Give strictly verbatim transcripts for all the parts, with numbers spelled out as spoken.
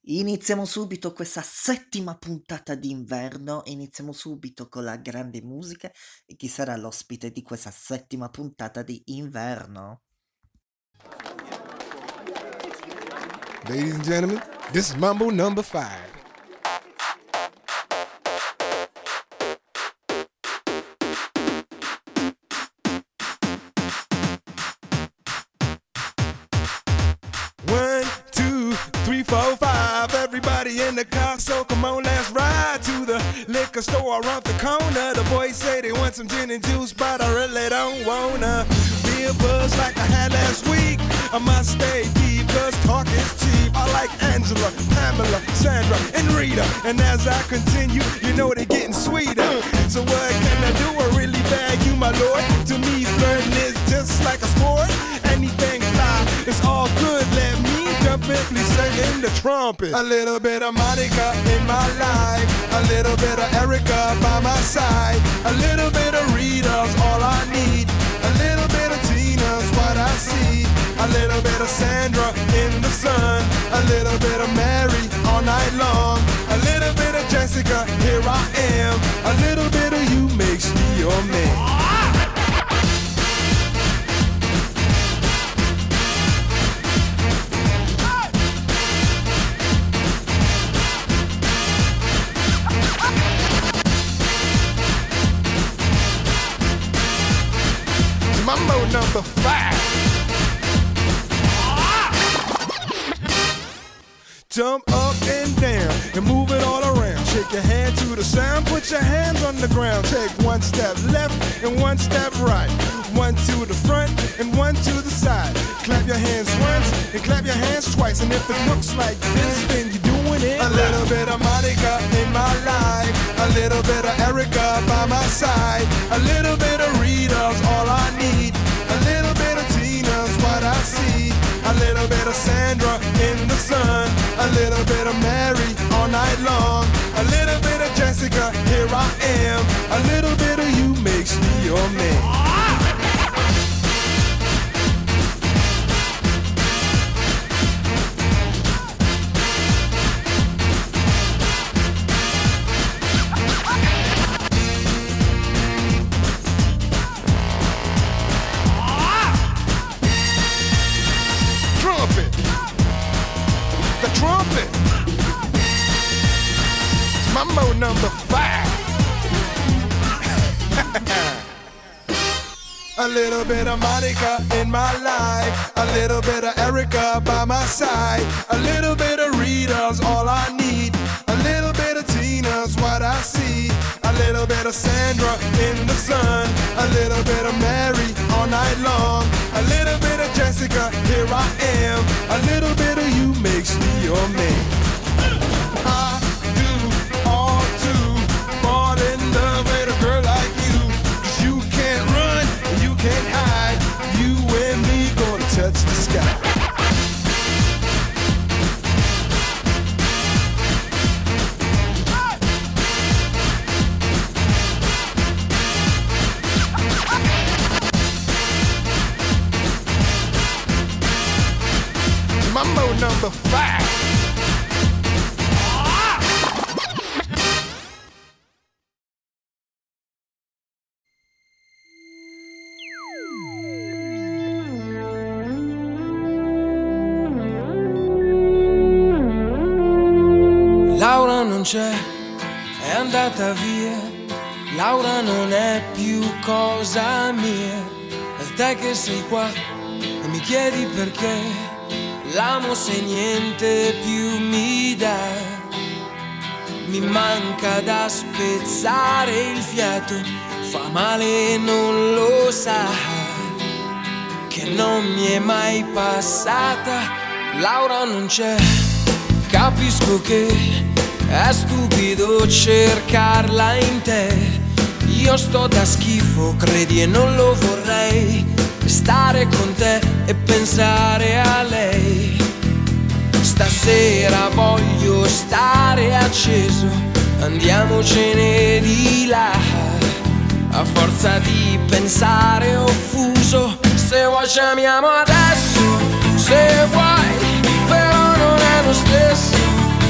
Iniziamo subito questa settima puntata d'inverno, iniziamo subito con la grande musica e chi sarà l'ospite di questa settima puntata di inverno? Ladies and gentlemen, this is Mambo number five. One, two, three, four, five. Everybody in the car, so come on, let's ride to the liquor store around the corner. The boys say they want some gin and juice, but I really don't wanna be a buzz like I had last week. I must stay deep, cause talk is cheap. I like Angela, Pamela, Sandra, and Rita. And as I continue, you know they're getting sweeter. So what can I do? I really bag you, my lord. To me, flirting is just like a sport. Anything fly, it's all good. Let me jump in, please sing the trumpet. A little bit of Monica in my life. A little bit of Erica by my side. A little bit of Rita's all I need. A little bit of Tina's what I see. A little bit of Sandra in the sun. A little bit of Mary all night long. A little bit of Jessica, here I am. A little bit of you makes me your man. Mambo number five. Jump up and down and move it all around. Shake your hand to the sound, put your hands on the ground. Take one step left and one step right. One to the front and one to the side. Clap your hands once and clap your hands twice. And if it looks like this, then you're doing it. A little bit of Monica in my life. A little bit of Erica by my side. A little bit of Rita's all I need. A little bit of Tina's what I see. A little bit of Sandra in the sun. A little bit of Mary all night long. A little bit of Jessica, here I am. A little bit of you makes me your man. Trumpet. Mambo number five. A little bit of Monica in my life. A little bit of Erica by my side. A little bit of Rita's all I need. A little bit of Tina's what I see. A little bit of Sandra in the sun. A little bit of Mary all night long. A little bit of Jessica, here I am. A little bit of you makes me your man. I do all to fall in love with a girl like you. 'Cause you can't run, you can't hide. You and me gonna touch the sky. Mambo number five. Laura non c'è, è andata via. Laura non è più cosa mia. È te che sei qua e mi chiedi perché. L'amo se niente più mi dà. Mi manca da spezzare il fiato. Fa male e non lo sa. Che non mi è mai passata. Laura non c'è. Capisco che è stupido cercarla in te. Io sto da schifo, credi e non lo vorrei. Stare con te e pensare a lei. Stasera voglio stare acceso. Andiamocene di là. A forza di pensare offuso. Se vuoi chiamiamo adesso. Se vuoi, però non è lo stesso.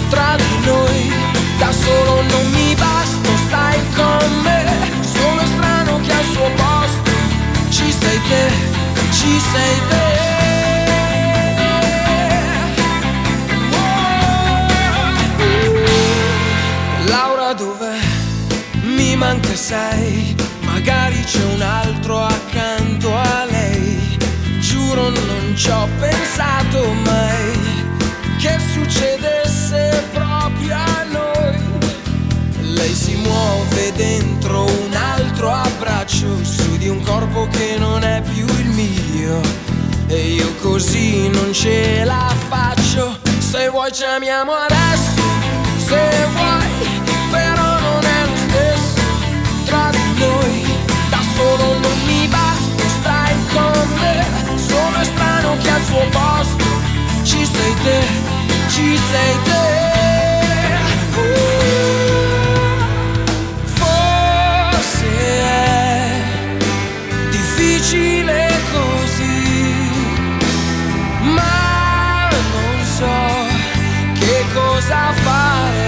dove sei, magari c'è un altro accanto a lei. Giuro non ci ho pensato mai che succedesse proprio a noi. Lei si muove dentro un altro abbraccio, su di un corpo che non è più il mio, e io così non ce la faccio. Se vuoi chiamiamo adesso, se vuoi, però non è lo stesso tra di noi. Da solo non mi basta, stai con me. Sono estraneo che al suo posto ci sei te, ci sei te. Uh, forse è difficile così, ma non so che cosa fare.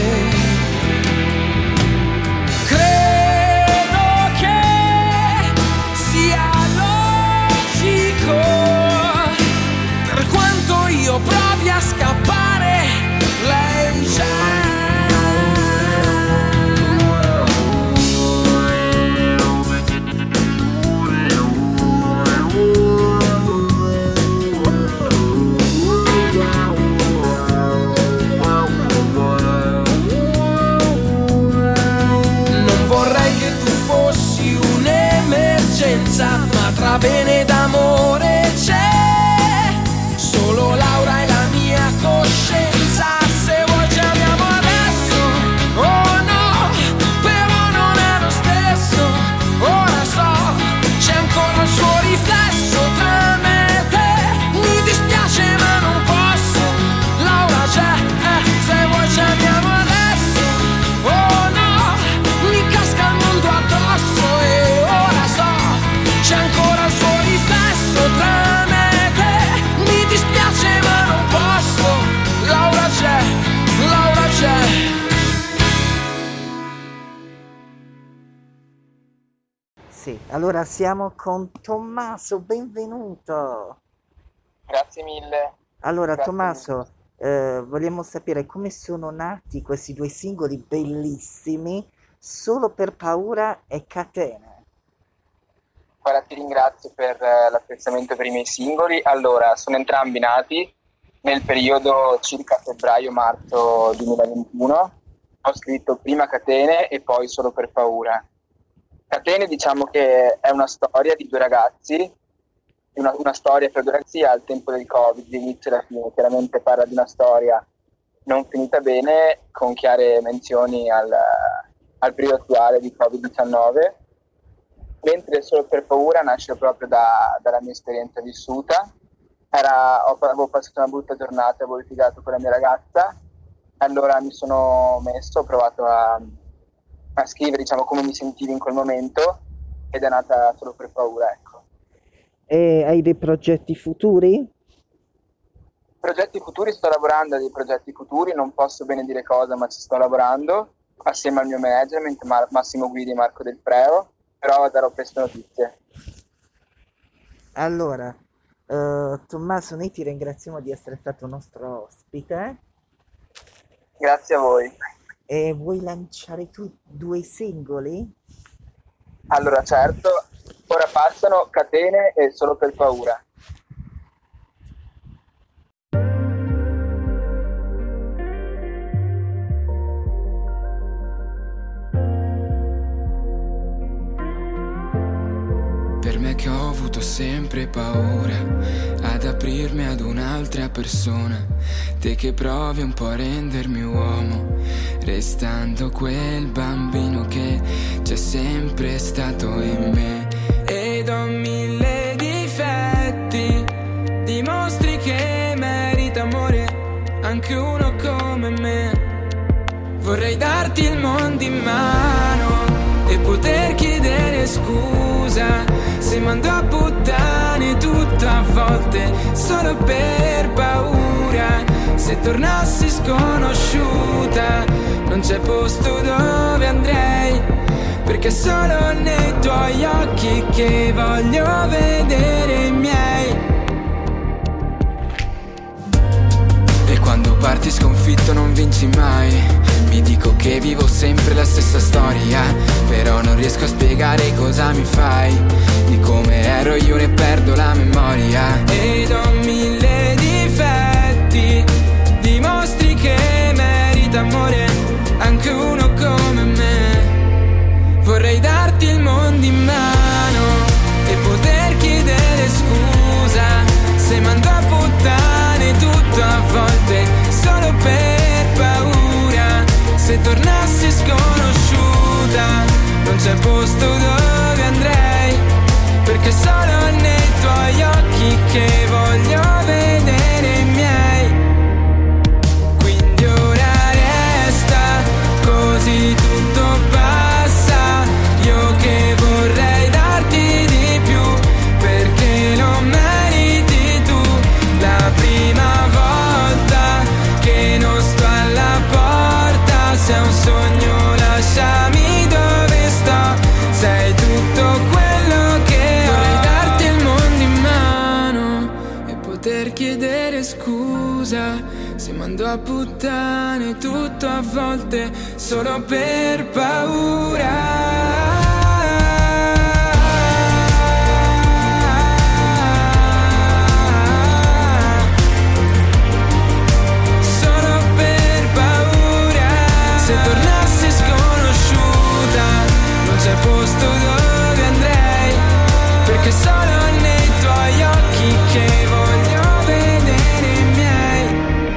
Credo che sia logico, per quanto io provi a scappare, lei c'è. Ma tra bene d'amore c'è solo Laura e la mia coscienza. Se vuoi chiamiamo adesso, oh no, però non è lo stesso. Ora so, c'è ancora il suo riflesso tra me e te. Mi dispiace ma non posso, Laura c'è, eh, se vuoi chiamiamo adesso, oh no, mi casca il mondo addosso. E ora so, c'è ancora il suo riflesso tra me e te. Mi dispiace ma non posso, Laura c'è, Laura c'è. Sì, allora siamo con Tommaso, benvenuto. Grazie mille. Allora Grazie Tommaso, eh, vogliamo sapere come sono nati questi due singoli bellissimi, Solo per paura e Catene. Guarda, ti ringrazio per eh, l'apprezzamento per i miei singoli. Allora, sono entrambi nati nel periodo circa febbraio-marzo duemilaventuno. Ho scritto prima Catene e poi Solo per paura. Catene, diciamo che è una storia di due ragazzi, una, una storia per due ragazzi al tempo del Covid, l'inizio e la fine. Chiaramente parla di una storia non finita bene, con chiare menzioni al, al periodo attuale di covid diciannove. Mentre Solo per paura nasce proprio da, dalla mia esperienza vissuta. Era, ho, avevo passato una brutta giornata, avevo litigato con la mia ragazza, allora mi sono messo, ho provato a, a scrivere, diciamo, come mi sentivo in quel momento, ed è nata Solo per paura, ecco. E hai dei progetti futuri? Progetti futuri, sto lavorando a dei progetti futuri, non posso bene dire cosa, ma ci sto lavorando, assieme al mio management, Mar- Massimo Guidi e Marco Del Preo. Però darò presto notizie. Allora, uh, Tommaso, noi ti ringraziamo di essere stato nostro ospite. Grazie a voi. E vuoi lanciare tu due singoli? Allora, certo, ora passano Catene e Solo per paura. Per me che ho avuto sempre paura ad aprirmi ad un'altra persona, te che provi un po' a rendermi uomo, restando quel bambino che c'è sempre stato in me. Ed ho mille difetti, dimostri che merita amore anche uno come me. Vorrei darti il mondo in mano e poter chiedere scusa se mando a puttane tutto a volte solo per paura. Se tornassi sconosciuta non c'è posto dove andrei, perché solo nei tuoi occhi che voglio vedere i miei. E quando parti sconfitto non vinci mai. Mi dico che vivo sempre la stessa storia, però non riesco a spiegare cosa mi fai. Di come ero io ne perdo la memoria. Ed ho mille difetti, dimostri che merita amore anche uno come me. Vorrei darti il mondo in mano e poter chiedere scusa se mando a puttane tutto a volte solo per paura. Se tornassi sconosciuta non c'è posto dove andrei, perché solo nei tuoi occhi che voglio vedere i miei. Quindi ora resta così tutto passa. Io che vorrei darti di più, perché lo meriti tu. La prima volta che non sto alla porta, se è un sogno lasciami dove sto. Sei tutto quello che ho. Vorrei darti il mondo in mano e poter chiedere scusa se mando a puttane tutto a volte solo per paura. C'è posto dove andrei, perché solo nei tuoi occhi che voglio vedere i miei.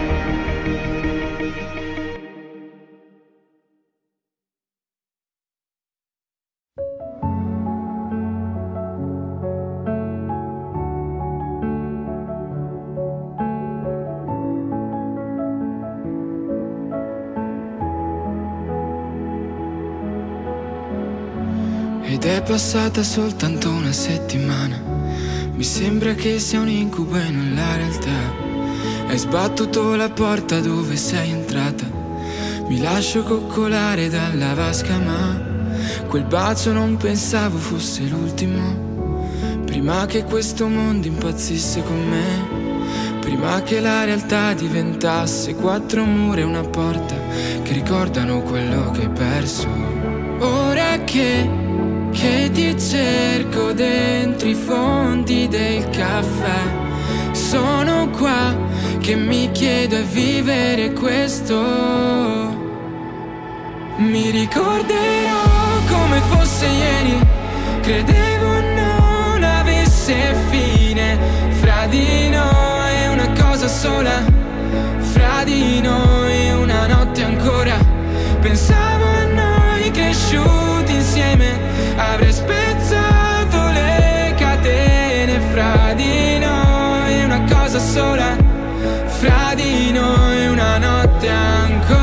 Ed è passata soltanto una settimana, mi sembra che sia un incubo e non la realtà. Hai sbattuto la porta dove sei entrata, mi lascio coccolare dalla vasca, ma quel bacio non pensavo fosse l'ultimo. Prima che questo mondo impazzisse con me, prima che la realtà diventasse quattro mura e una porta che ricordano quello che hai perso. Ora che Che ti cerco dentro i fondi del caffè, sono qua che mi chiedo e vivere questo. Mi ricorderò come fosse ieri, credevo non avesse fine. Fra di noi una cosa sola, fra di noi una notte ancora. Pensavo a noi cresciuti insieme, avrei spezzato le catene. Fra di noi una cosa sola, fra di noi una notte ancora.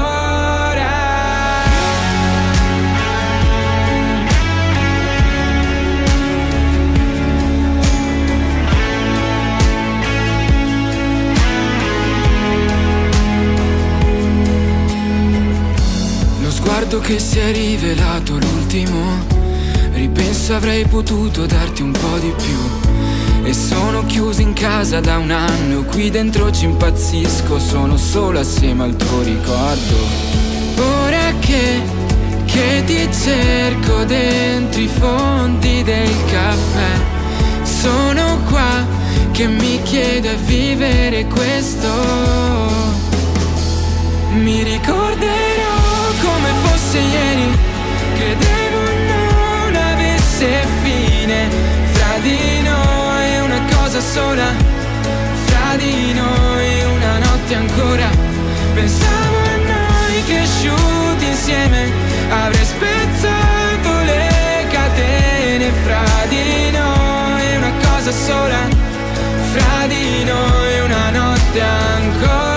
Lo sguardo che si è rivelato l'ultimo, ripenso avrei potuto darti un po' di più. E sono chiuso in casa da un anno, qui dentro ci impazzisco, sono solo assieme al tuo ricordo. Ora che, che ti cerco dentro i fondi del caffè, sono qua che mi chiedo e vivere questo. Mi ricorderò come fosse ieri, credevo non avesse fine. Fra di noi una cosa sola, fra di noi una notte ancora. Pensavo a noi cresciuti insieme, avrei spezzato le catene. Fra di noi una cosa sola, fra di noi una notte ancora.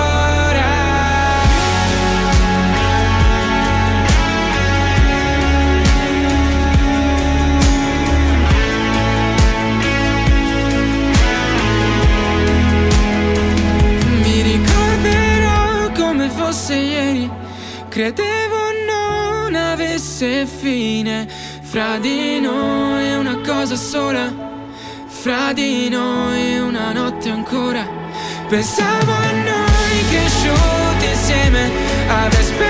Fosse ieri, credevo non avesse fine. Fra di noi una cosa sola, fra di noi una notte ancora. Pensavo a noi cresciuti insieme ad aspettare